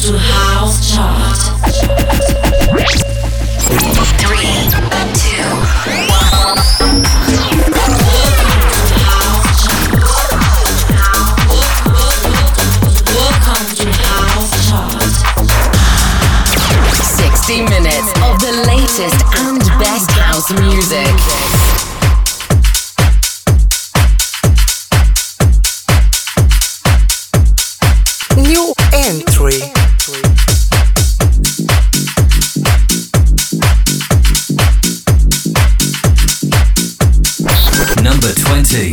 to House Chart. 3, 2, 60 minutes of the latest and best house music. New entry. Number 20.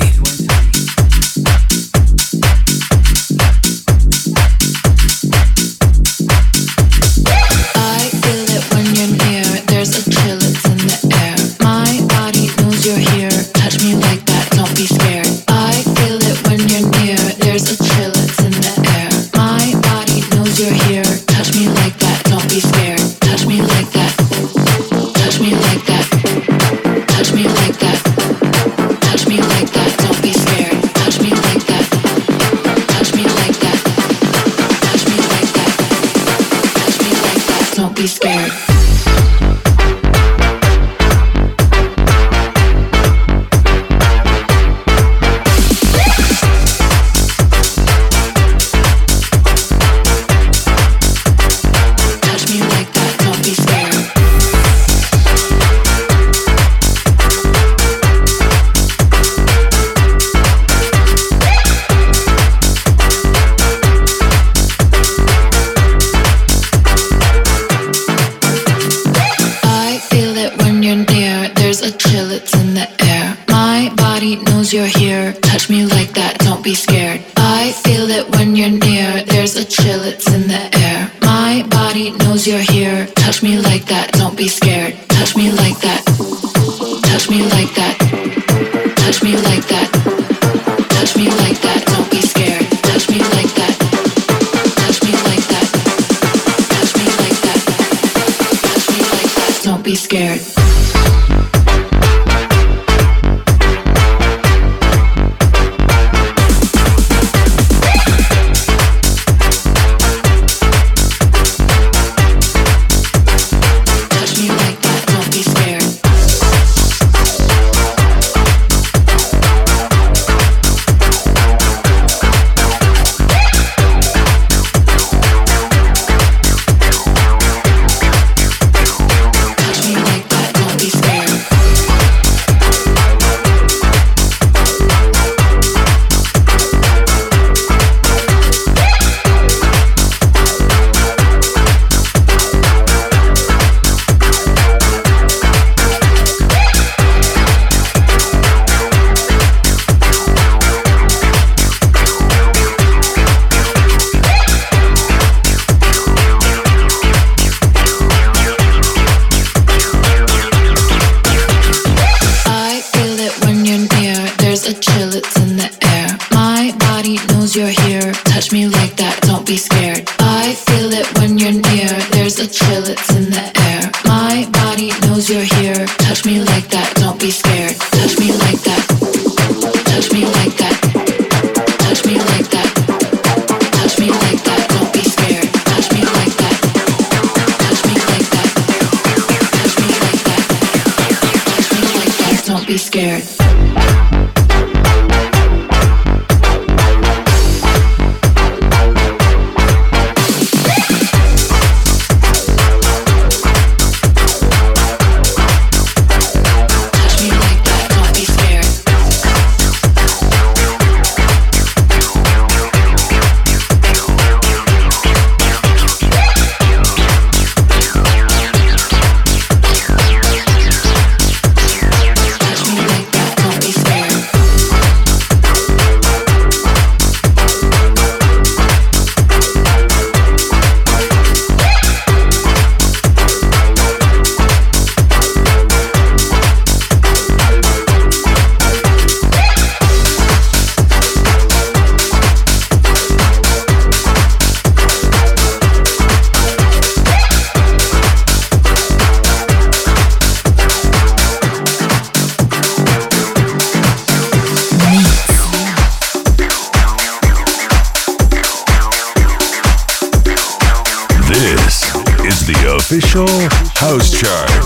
official house chart.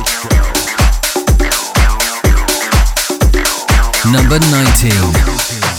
Number 19.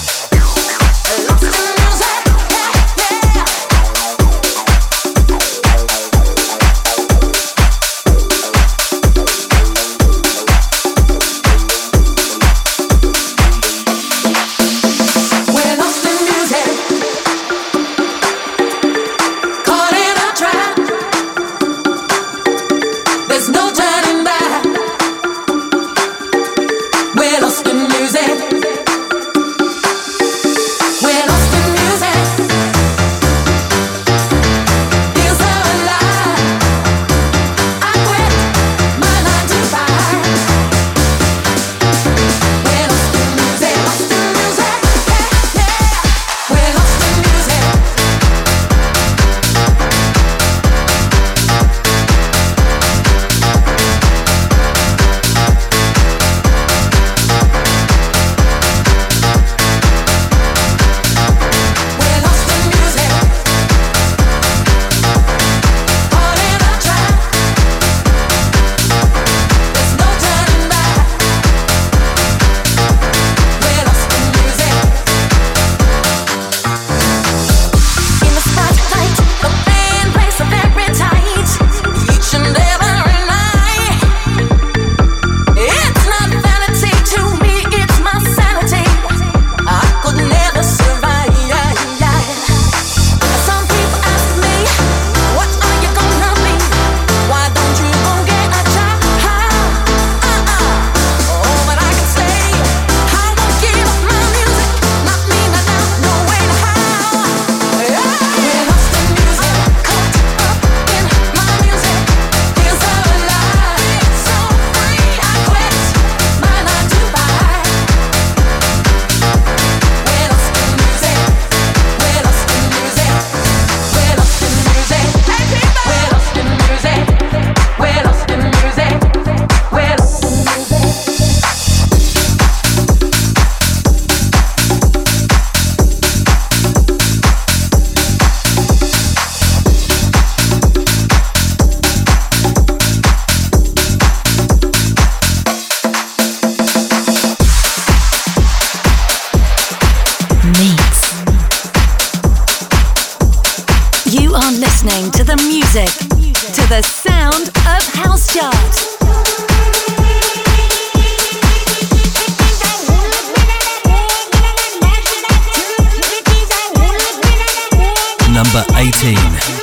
Number 18.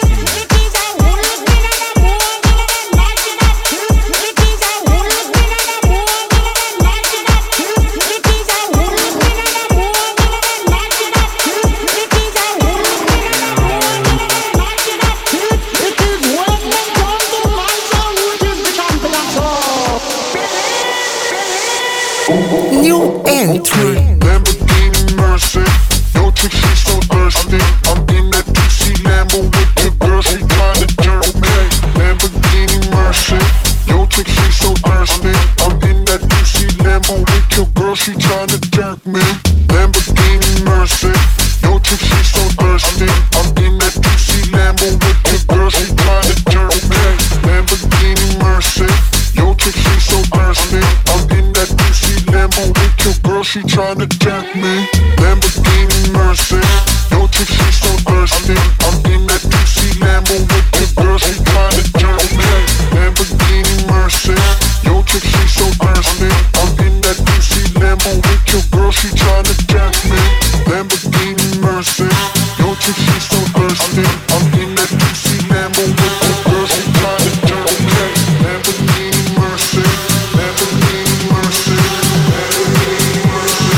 New entry. Lamborghini Mercy, no chick, she's so thirsty. I'm in that DC Lambo with your girl, she tryna jerk me. Lamborghini Mercy, yo chick, she's so thirsty. I'm in that DC Lambo with your girl, she tryna jerk me. Lamborghini Mercy, yo chick, she's so thirsty. I'm in that DC Lambo with your girl, she tryna jerk me. Lamborghini Mercy, yo chick, she's so thirsty. I'm in that DC Lambo with your girl, she tryna jerk me. Lamborghini Mercy, yo chick, she's so thirsty. I'm in that DC Lambo with your girl, she tryna jerk me. Lamborghini Mercy, yo chick, she's so thirsty. I'm in that DC Lambo with your girl, she tryna jerk me. Lamborghini Mercy, yo chick, she's so thirsty. I'm in that DC Lambo with your girl, she tryna jerk me. Lamborghini Mercy, Lamborghini Mercy, Lamborghini Mercy.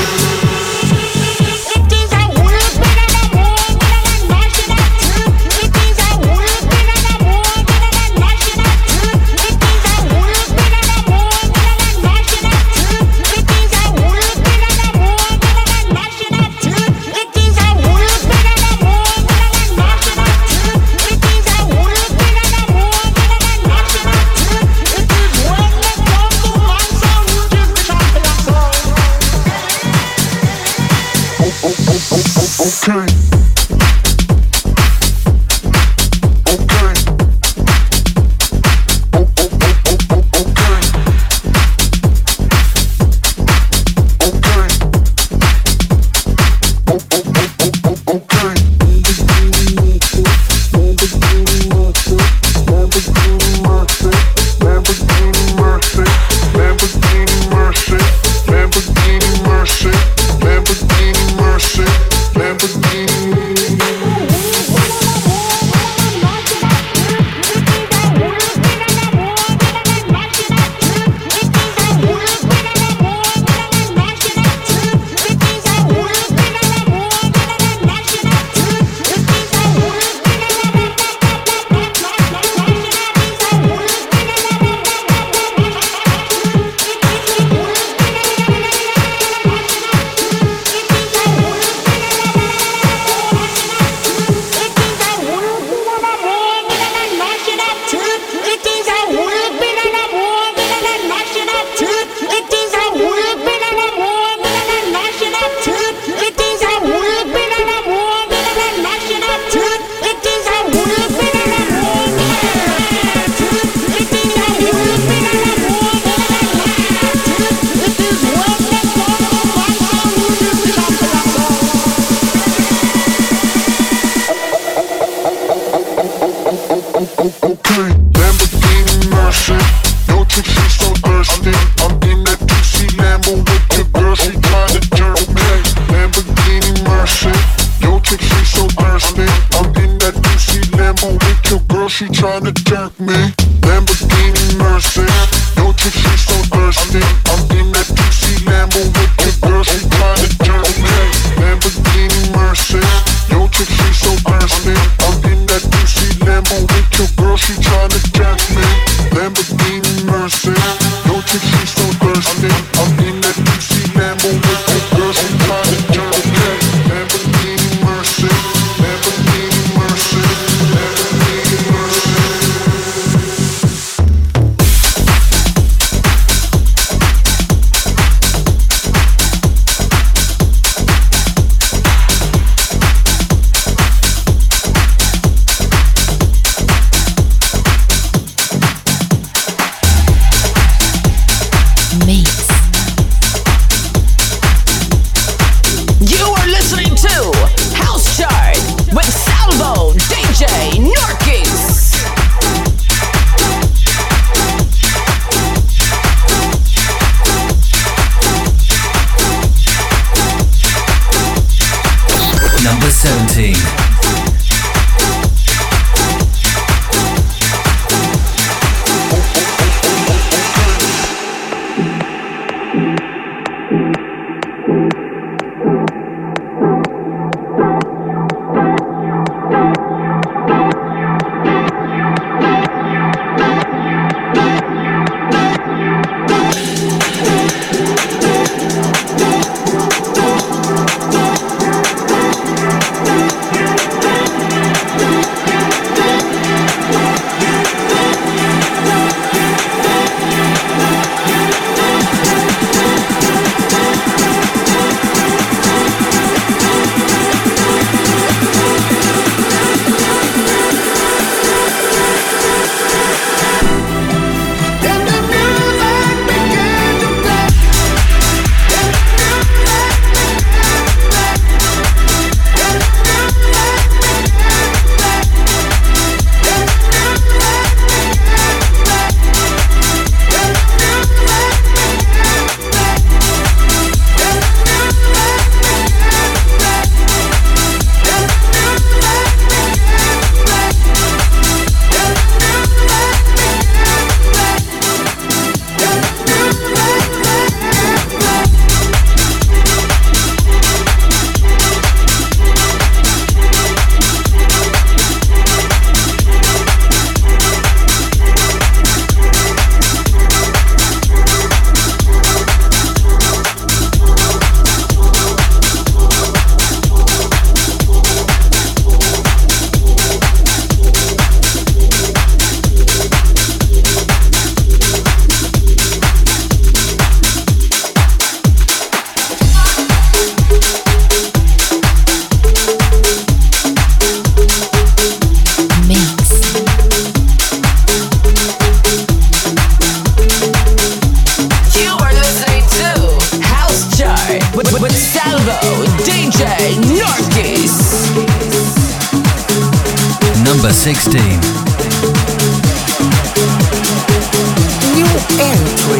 Okay. Okay. Number 16. New entry.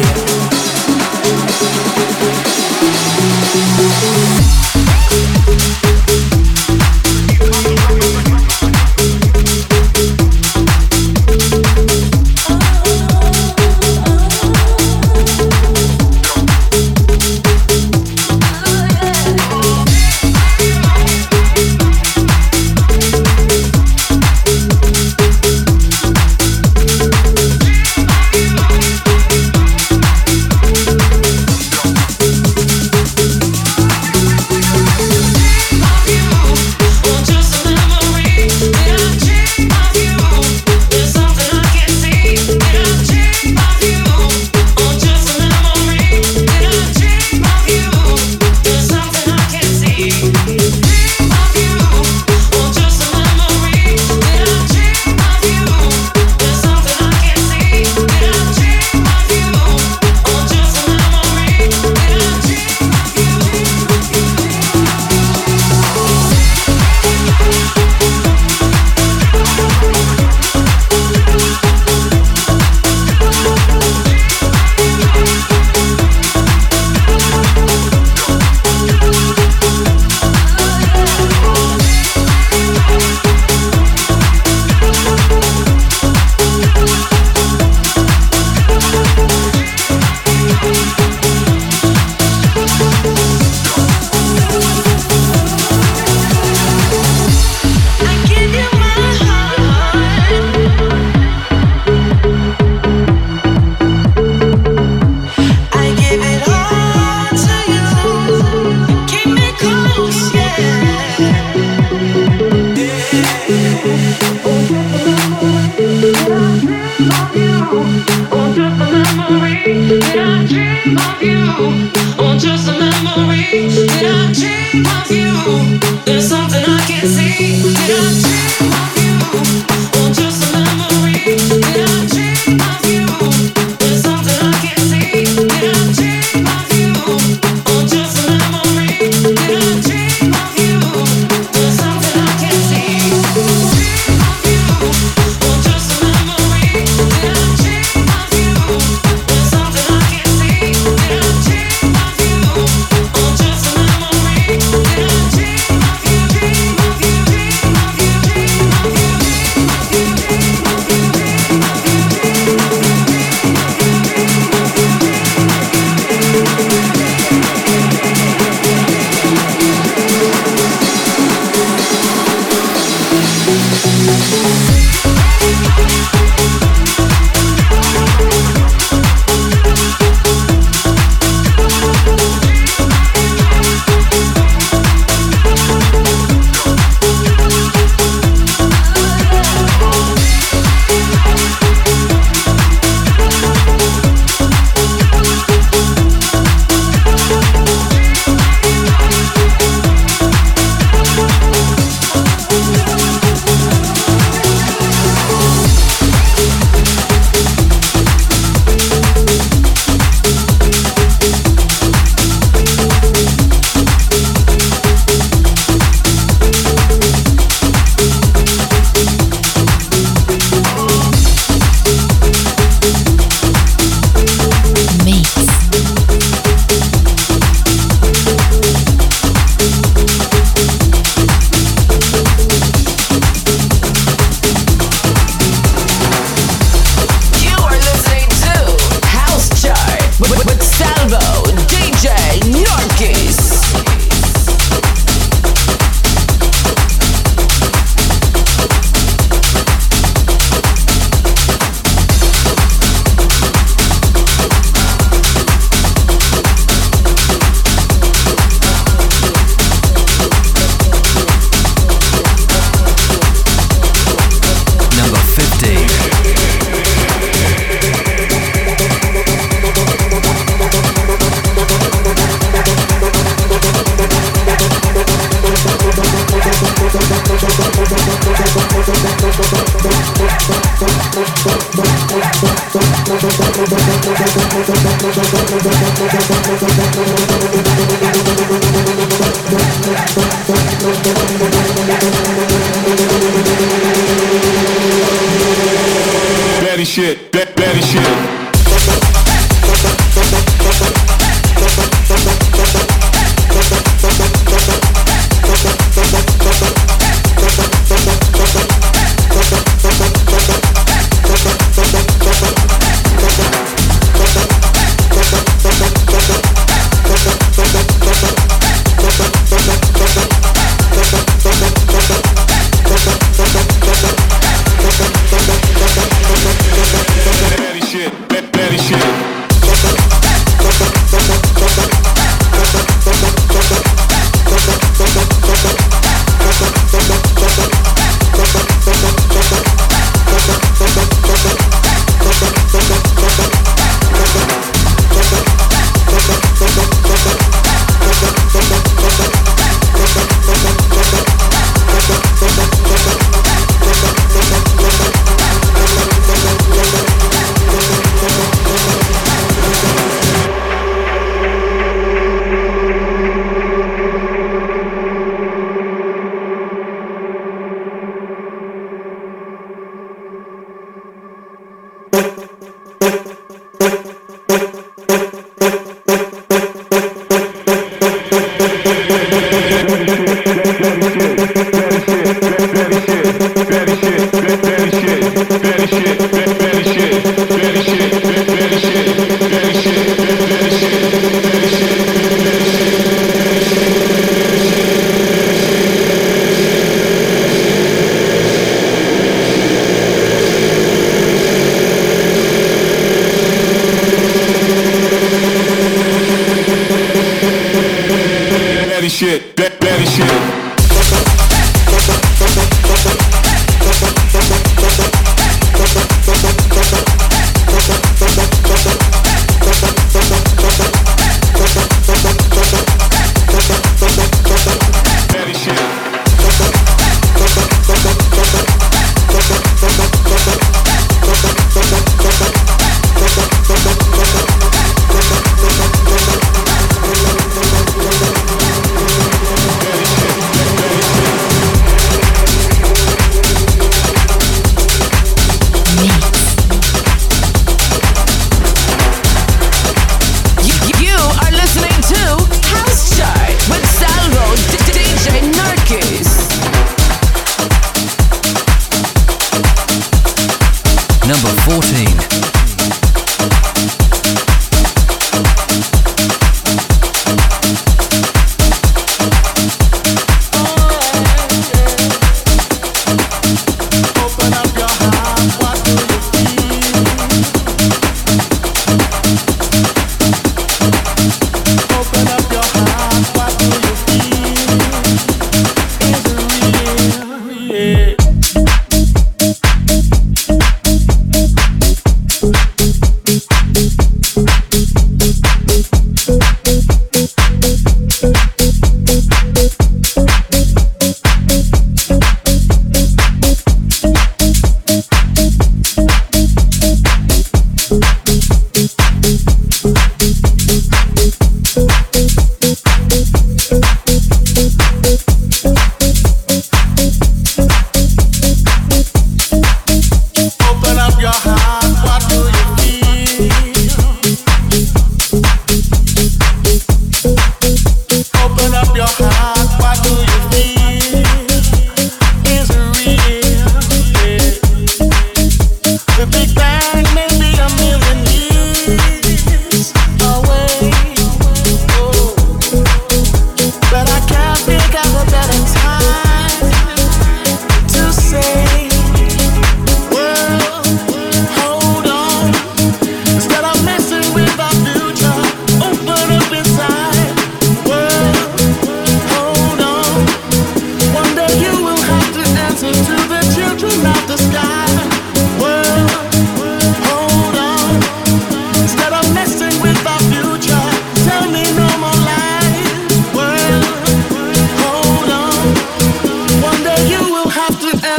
Betty shit, Betty shit.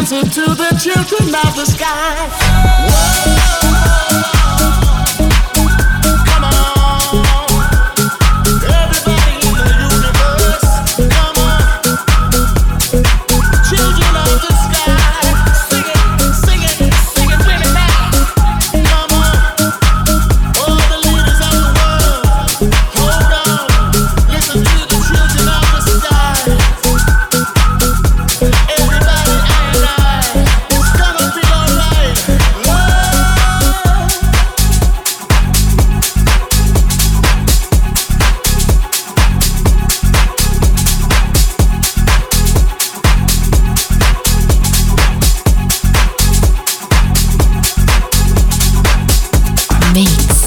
answer to the children of the sky. Whoa. Come on. Everybody in the universe. Come on. Children of the sky. Sing it, sing it, sing it with me now. Come on. All the leaders of the world. Hold on. Listen to the children of the sky. Everybody, it's gonna be alright. Mix.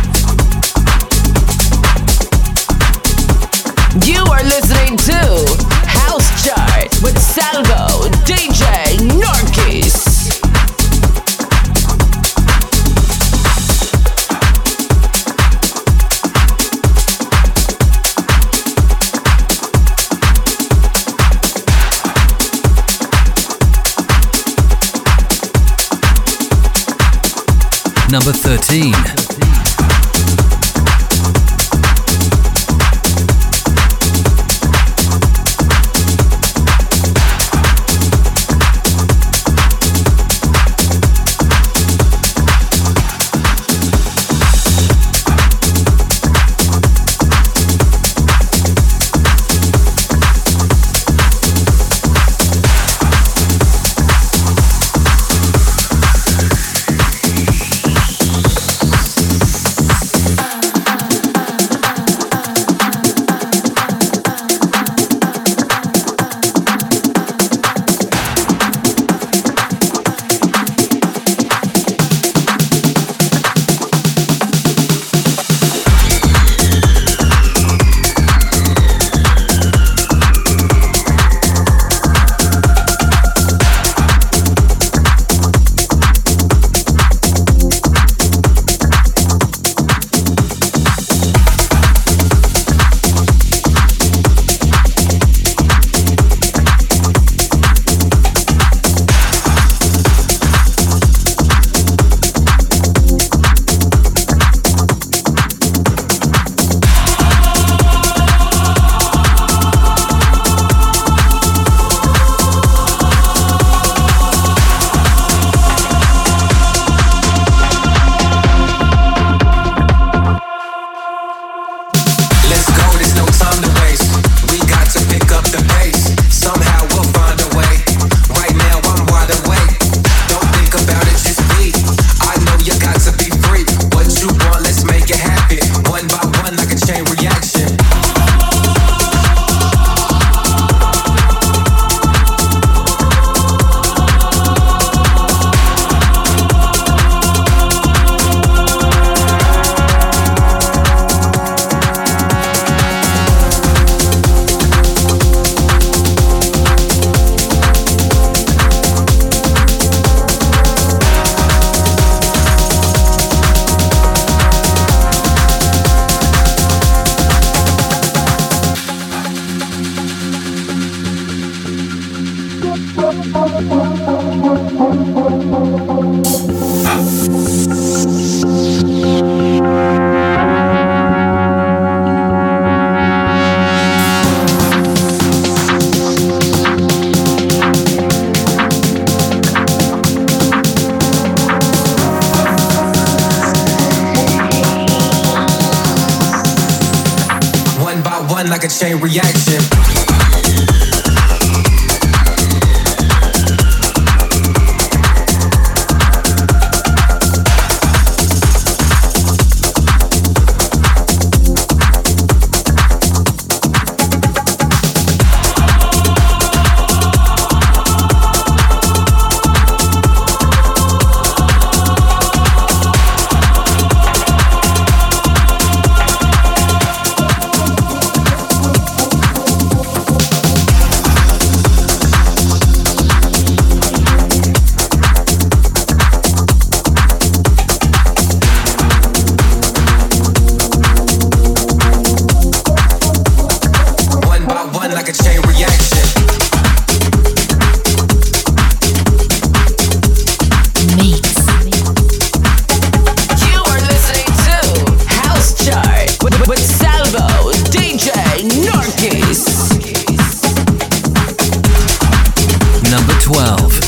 You are listening to House Chart with Salvo, DJ Norkis. Number 13. Like a chain reaction. Number 12.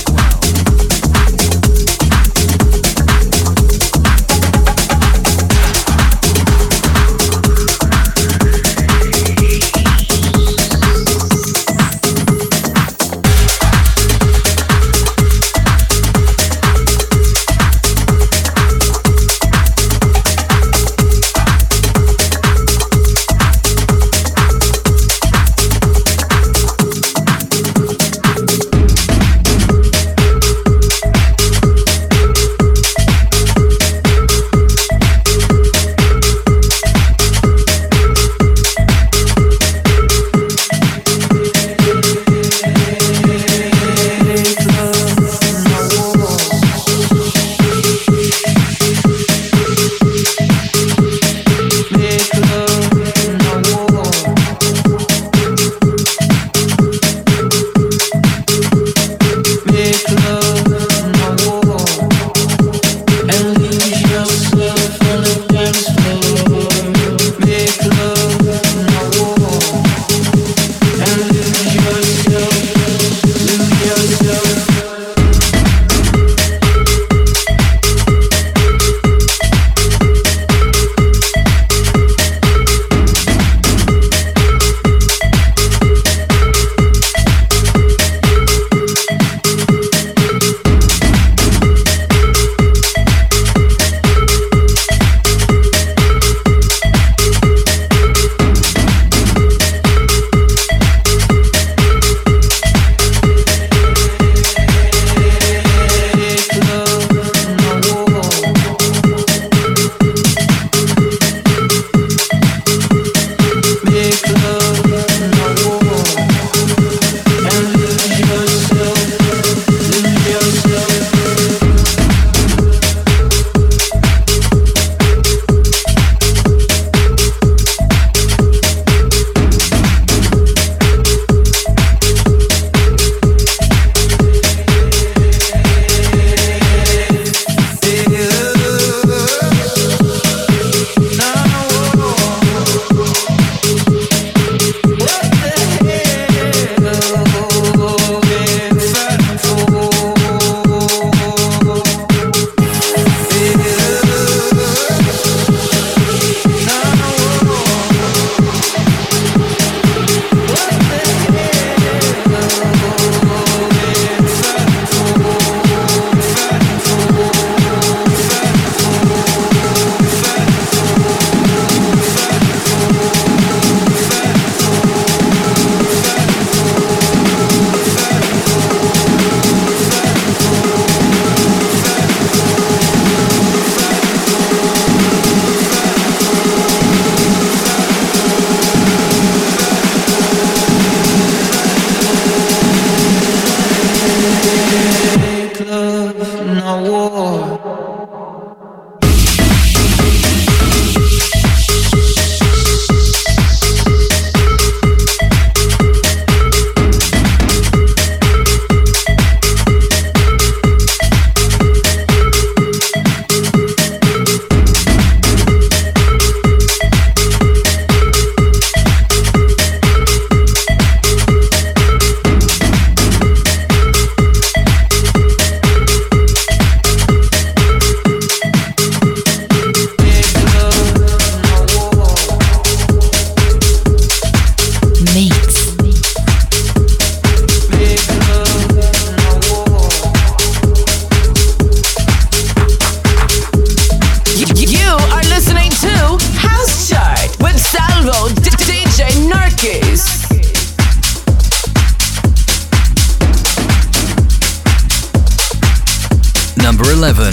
Number 11.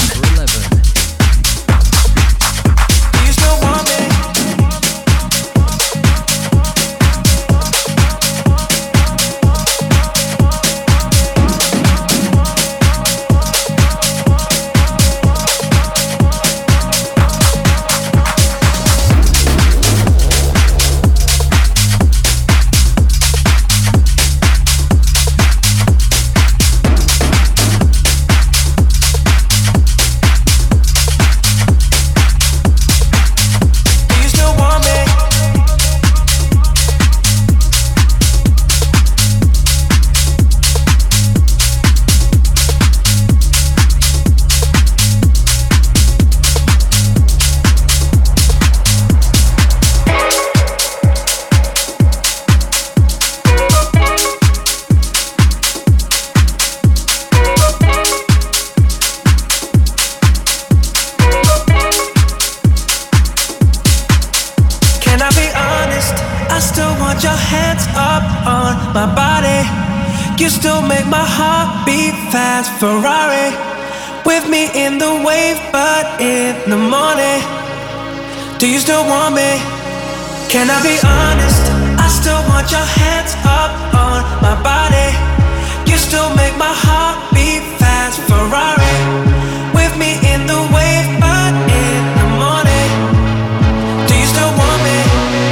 my body. You still make my heart beat fast. Ferrari with me in the wave, but in the morning. Do you still want me? Can I be honest? I still want your hands up on my body. You still make my heart beat fast. Ferrari with me in the wave, but in the morning. Do you still want me?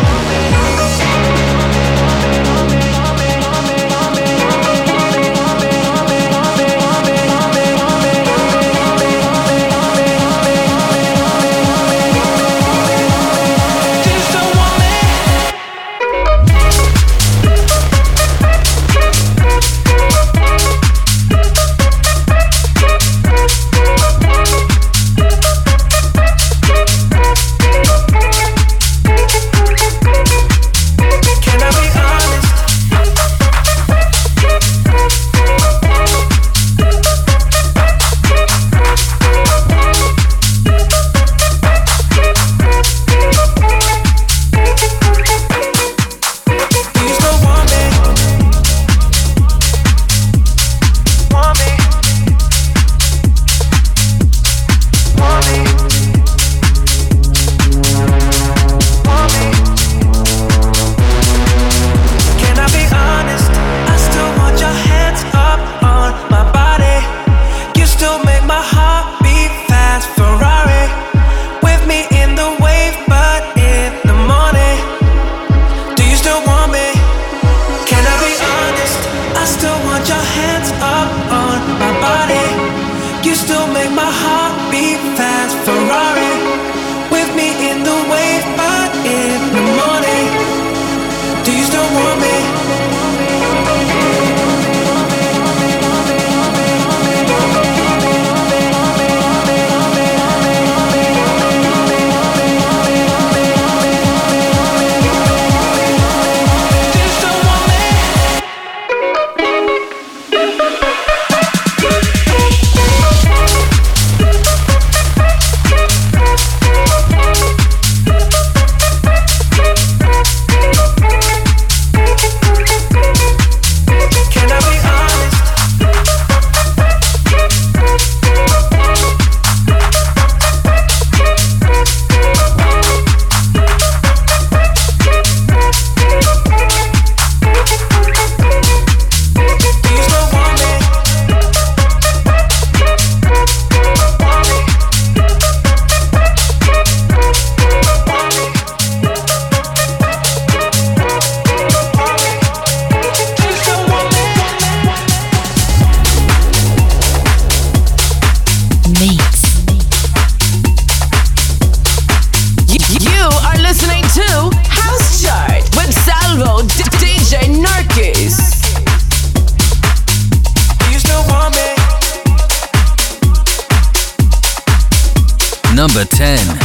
Number 10.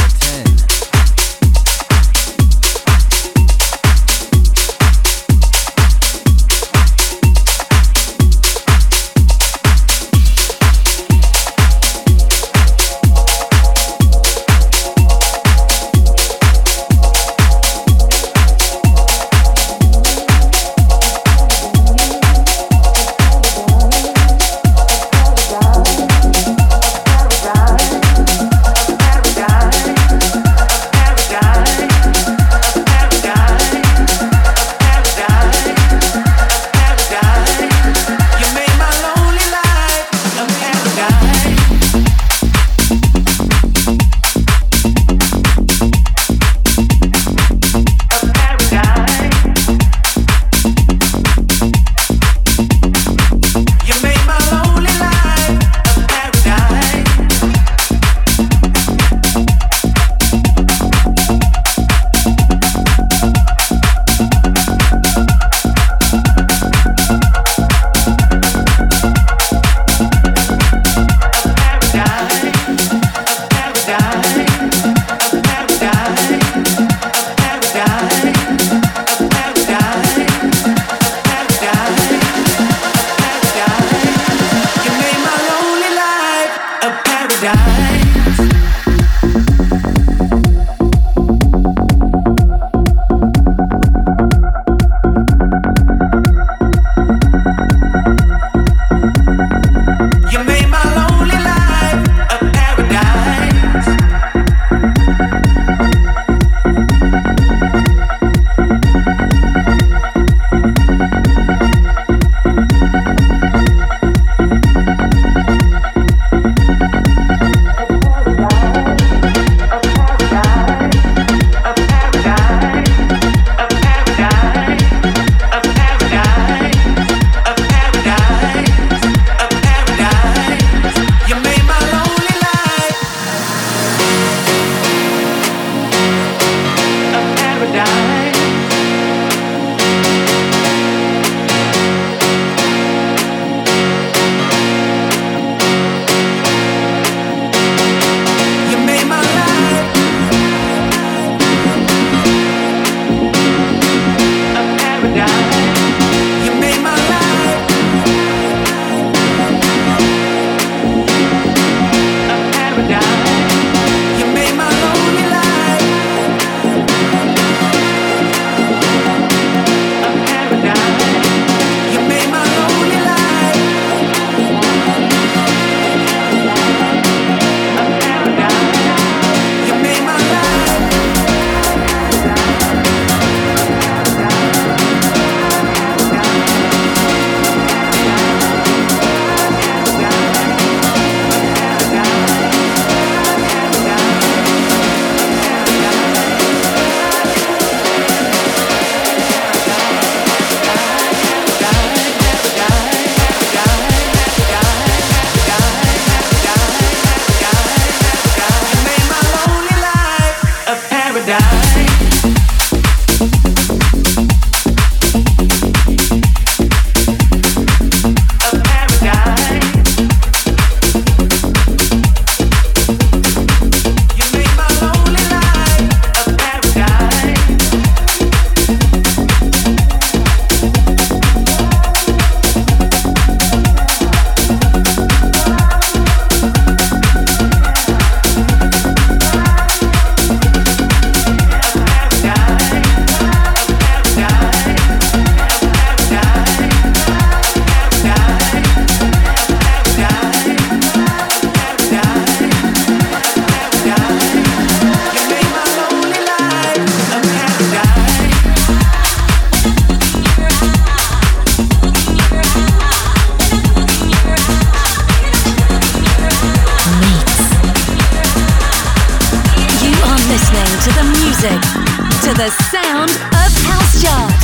The sound of House Chart.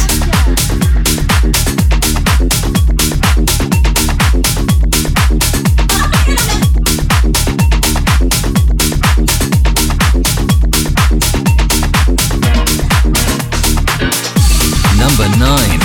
Number 9.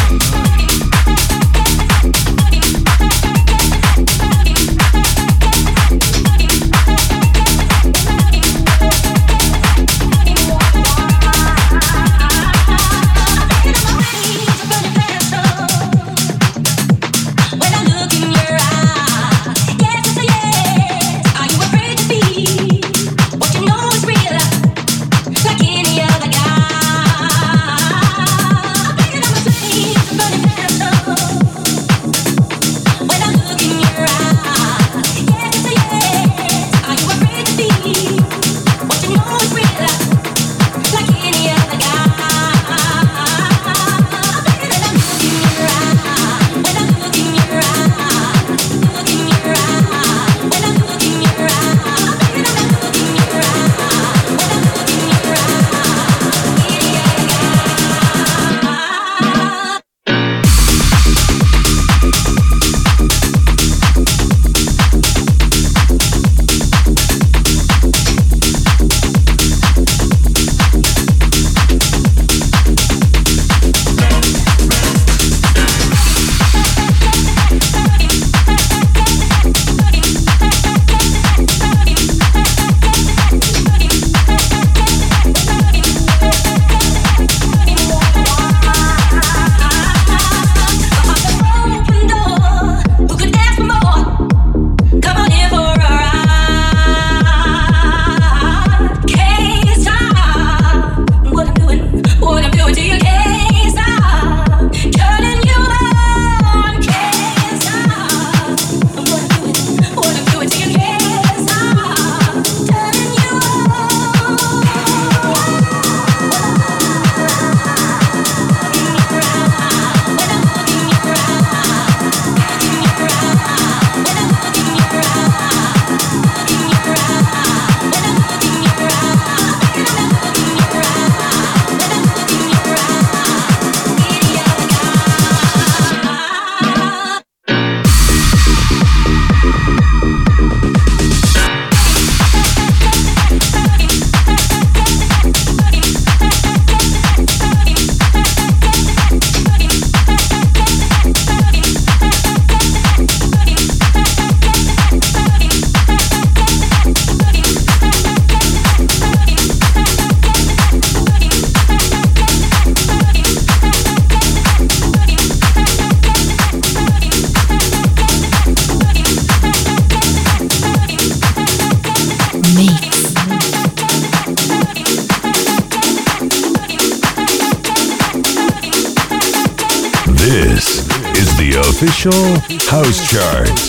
This is the official House Chart.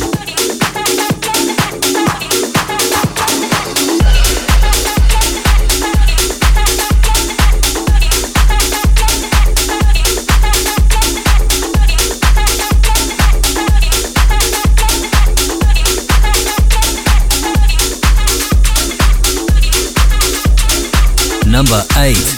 Number 8.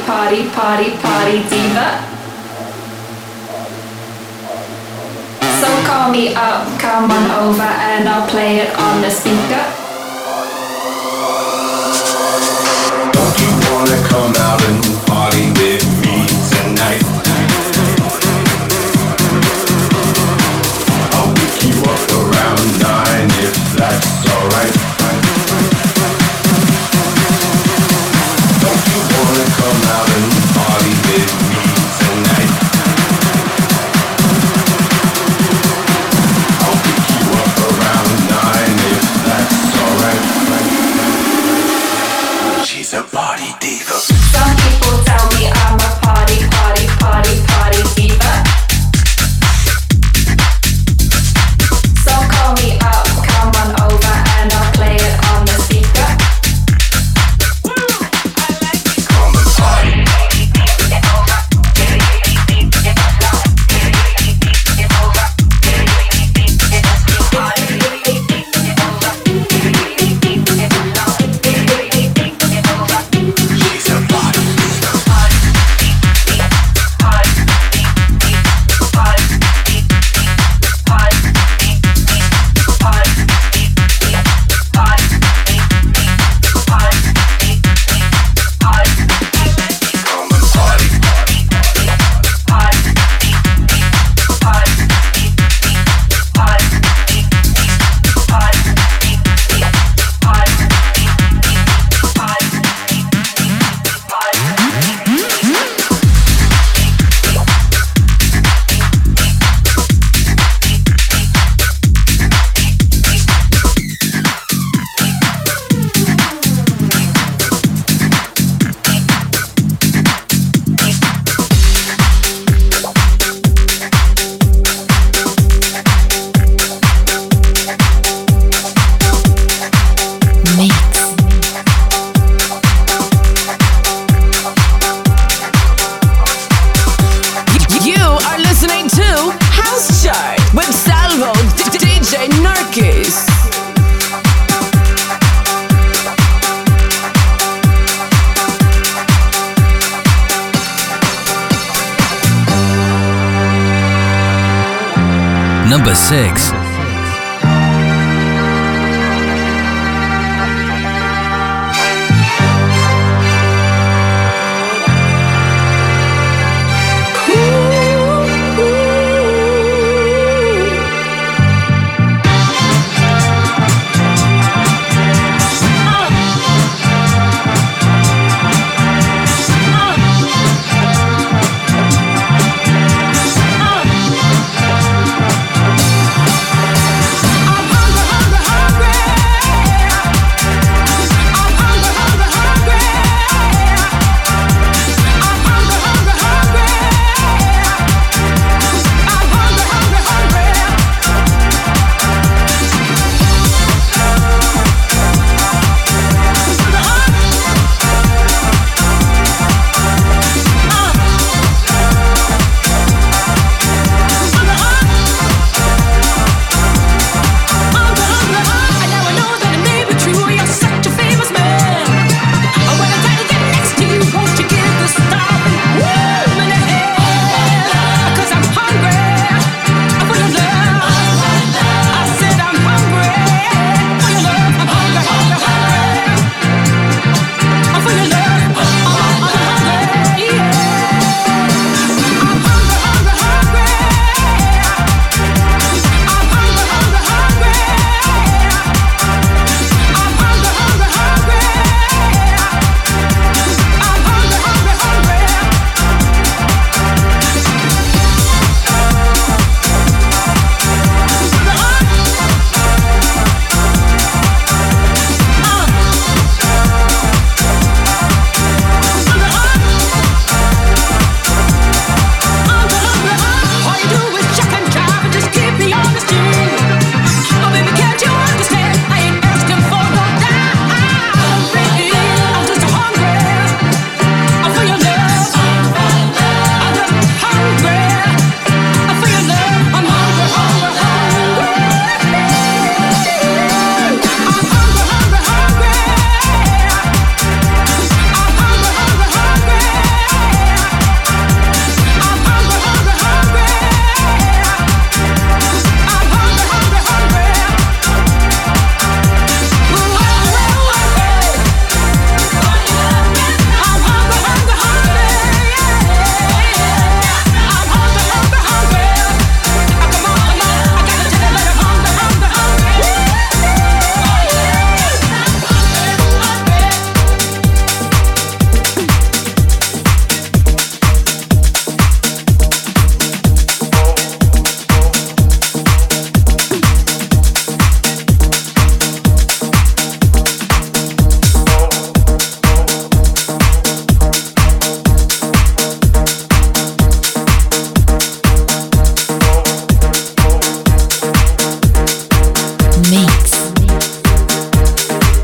party, party, party diva. So call me up, come on over and I'll play it on the speaker. Don't you wanna come out and party with me tonight? I'll pick you up around 9 if that's alright. Don't you wanna come out and party with me tonight? I'll pick you up around 9 if that's alright. She's a party diva. Some people tell me I'm a party, party, party, party diva. So call me up, come on over and I'll play it on the speaker. Come and party. She's a party diva. Come and party. You are listening to House Chart with Salvo, DJ Narkis. Number 6.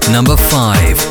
Number 5.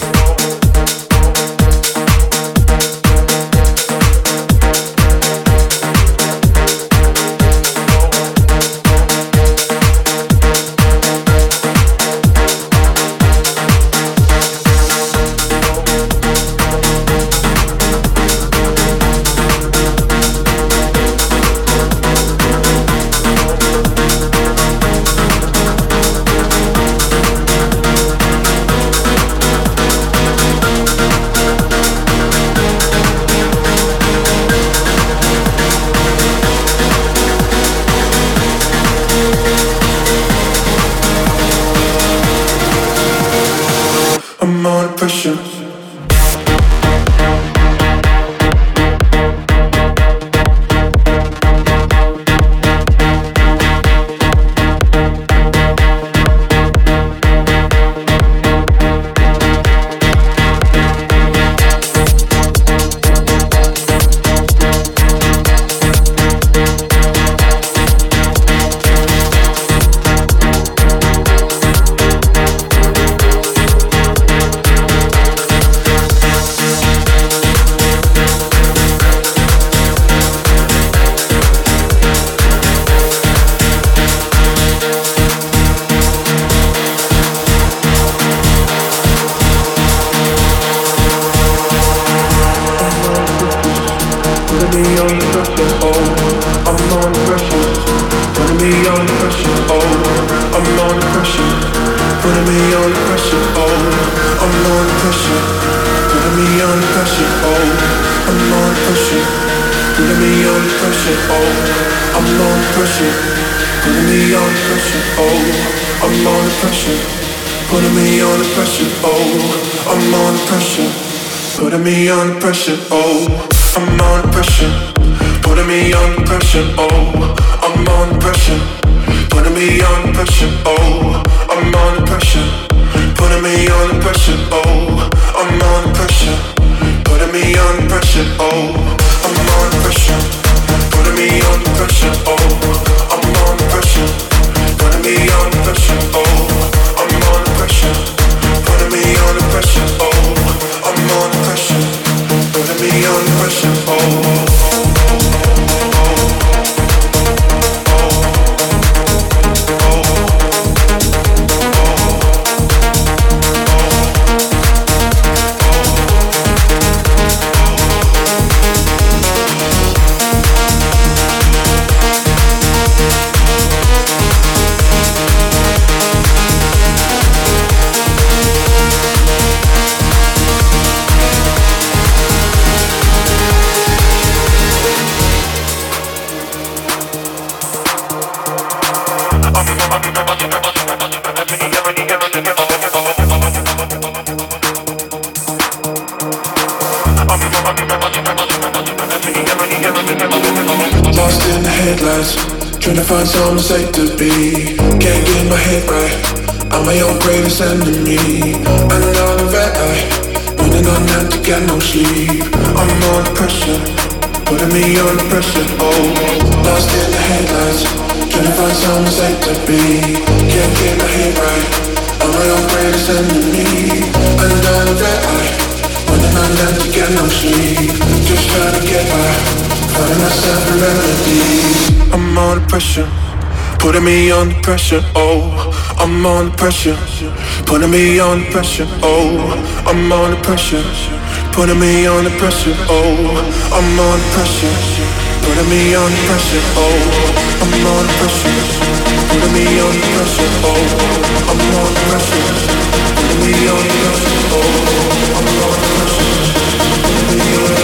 Lost in the headlights, trying to find somewhere safe to be. Can't get my head right, I'm my own greatest enemy. Another red eye, running on empty, got no sleep. I'm under pressure, putting me under pressure. Oh, lost in the headlights, trying to find somewhere safe to be. Can't get my head right, I'm my own greatest enemy. Another red eye, running on empty, got no sleep. Just trying to get by, finding myself a remedy. I'm under pressure, putting me under pressure. Oh, I'm under pressure, putting me under pressure. Oh, I'm under pressure, putting me under pressure. Oh, I'm under pressure, putting me under pressure. Oh, I'm under pressure, putting me under pressure. Oh, I'm under pressure, putting me under pressure. Oh, I'm under pressure, putting me under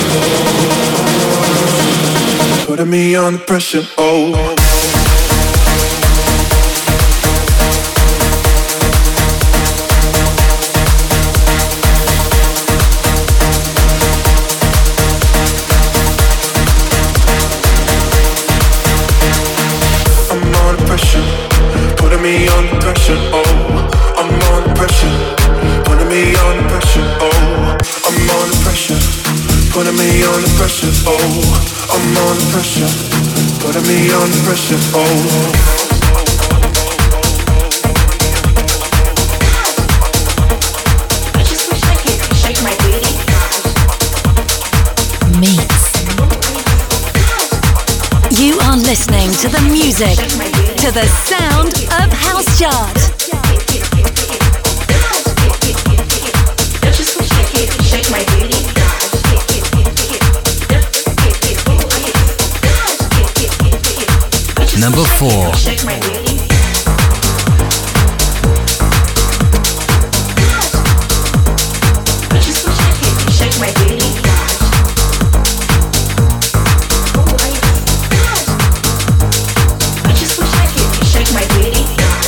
pressure. Putting me under pressure. Oh. Putting me under pressure, oh, I'm under pressure. Putting me under pressure, oh. to the music, to the sound of House Chart. Shake my booty. Number 4. Shake my booty. Shake my booty. I just wish I could shake my booty.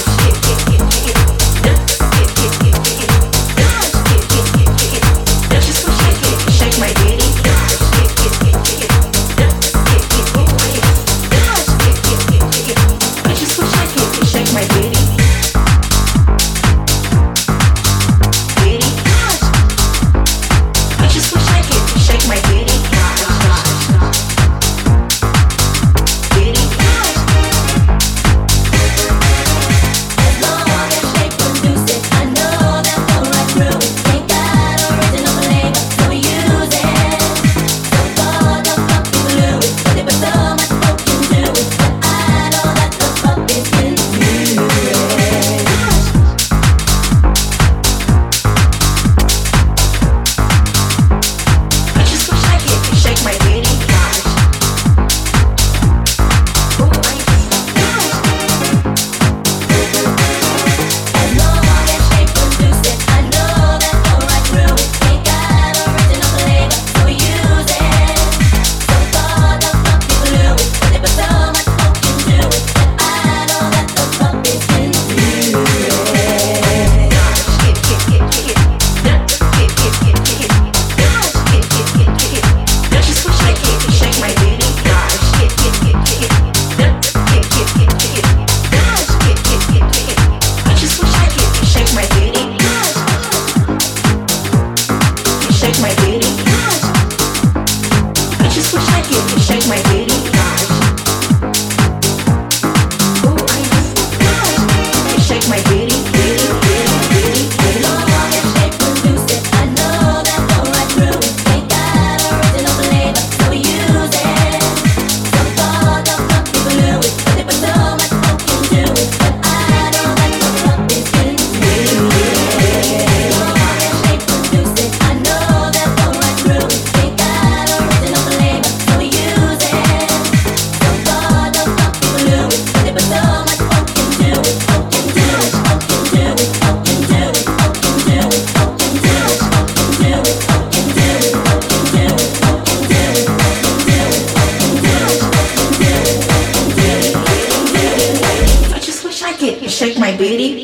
Shake my booty.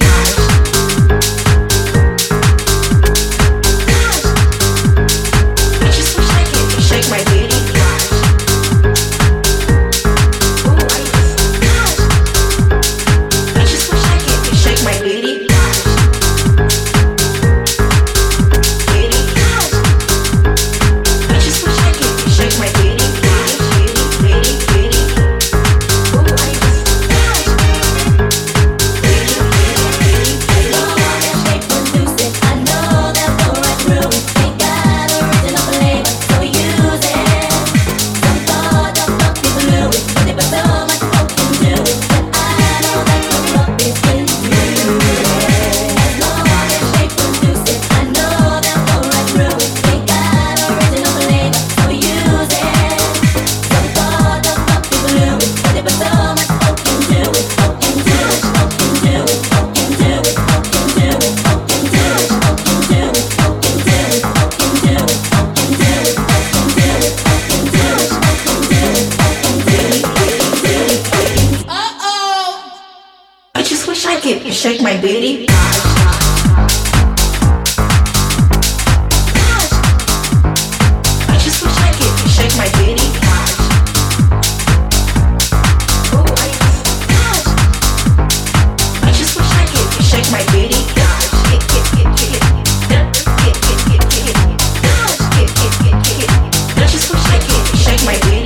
Shake my booty. I just wish I could shake my booty. I just wish I could shake my booty. I just wish I could shake my booty.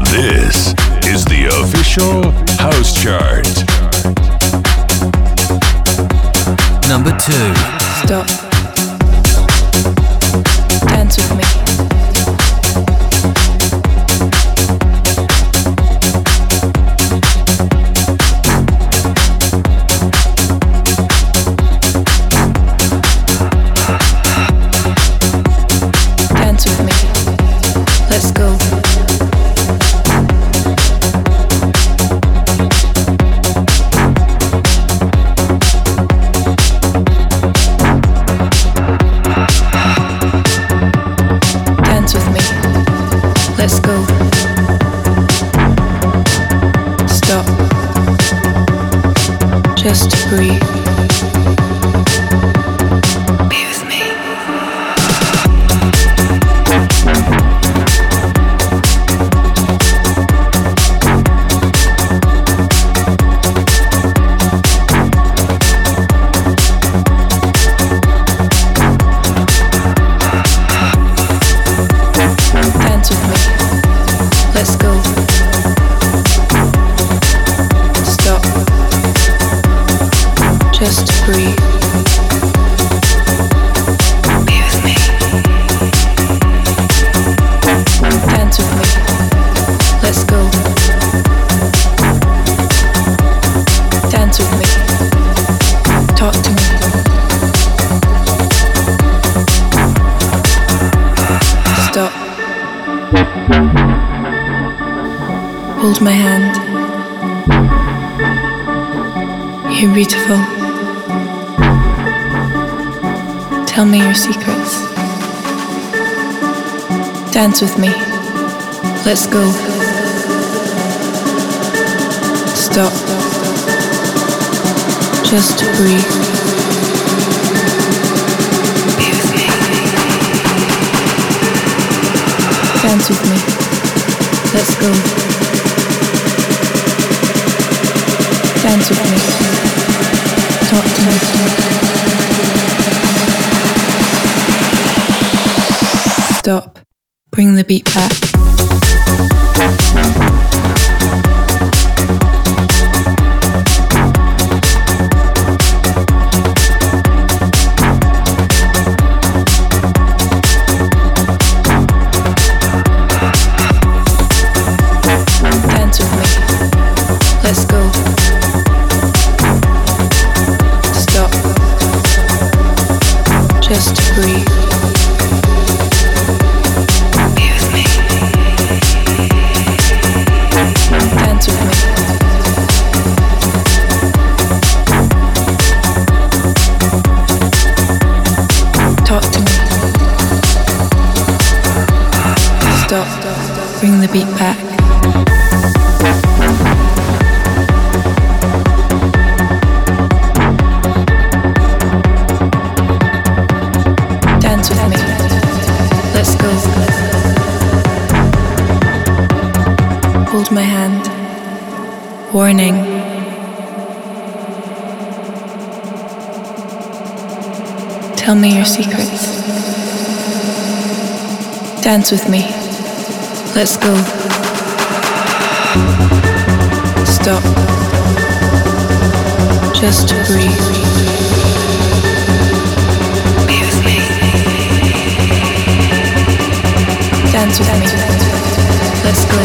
This is the official House Chart. Number 2. Stop. Dance with me. Dance with me. Let's go. Dance with me. Let's go. Stop. Just breathe. Be with me. Dance with me. Let's go. Stop. Just breathe. Be with me. Dance with me. Let's go. Dance with me. Talk to me. Stop. Hold my hand. You're beautiful. Tell me your secrets. Dance with me. Let's go. Stop. Just breathe. Be with me. Dance with me. Let's go. Dance with me. Talk to me. Stop. Bring the beat back. Dance with me. Let's go. Stop. Just breathe. Be with me. Dance with me. Talk to me. Stop. Bring the beat back. Dance with me. Let's go. Hold my hand. Warning. Tell me your secrets. Dance with me. Let's go. Stop. Just breathe. Be with me. Dance with me. Let's go.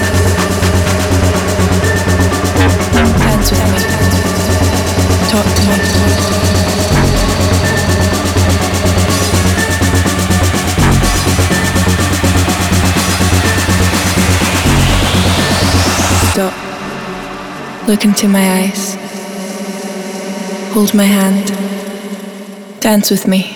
Dance with me. Talk to me. Stop. Look into my eyes. Hold my hand. Dance with me.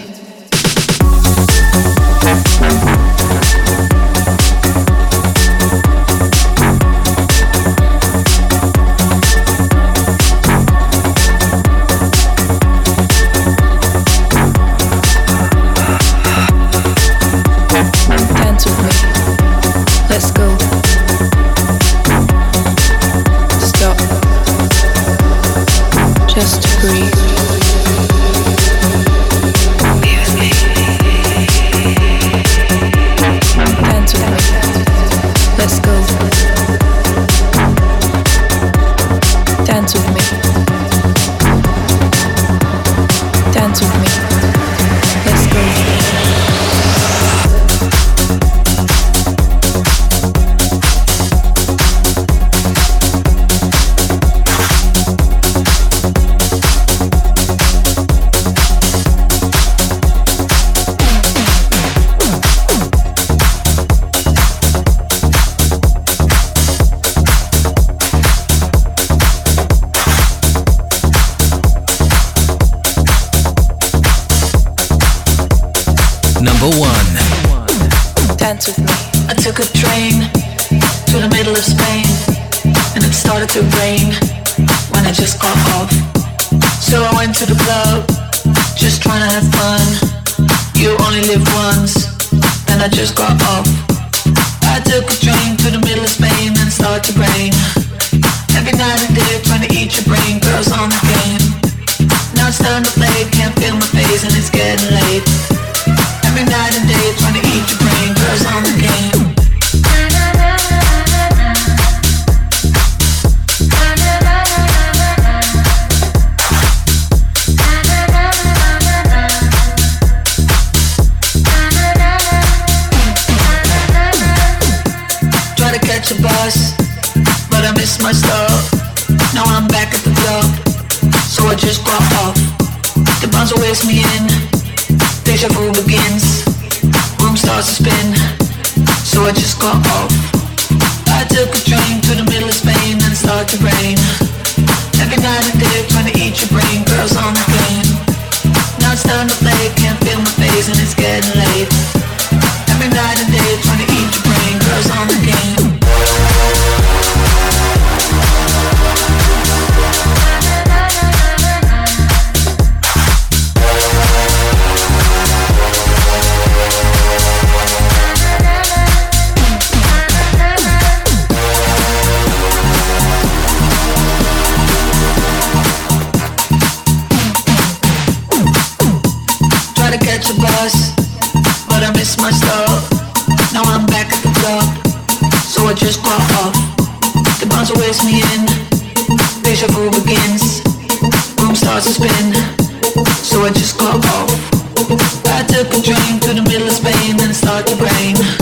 Dance with me. Let's go. Stop. Just breathe. to rain when I just got off. So I went to the club, just trying to have fun. You only live once, then I just got off. I took a train to the middle of Spain and started to rain. Every night and day trying to eat your brain, girls on the game. Now it's time to play, can't feel my face and it's getting late. Every night and day trying to eat your brain, girls on the game. Try to catch a bus, but I missed my stop. Now I'm back at the club, so I just got off. The bouncer waves me in, deja vu begins. Room starts to spin, so I just got off. I took a train to the middle of Spain and it started to rain. Every night and day trying to eat your brain, girls on the game. Now it's time to play, can't feel my face and it's getting late. Every night and day trying to eat your brain, girls on the game. Catch a bus, but I missed my stop. Now I'm back at the club, so I just got off. The bouncer waves me in, deja vu begins. Room starts to spin, so I just got off. I took a train to the middle of Spain and it started to rain.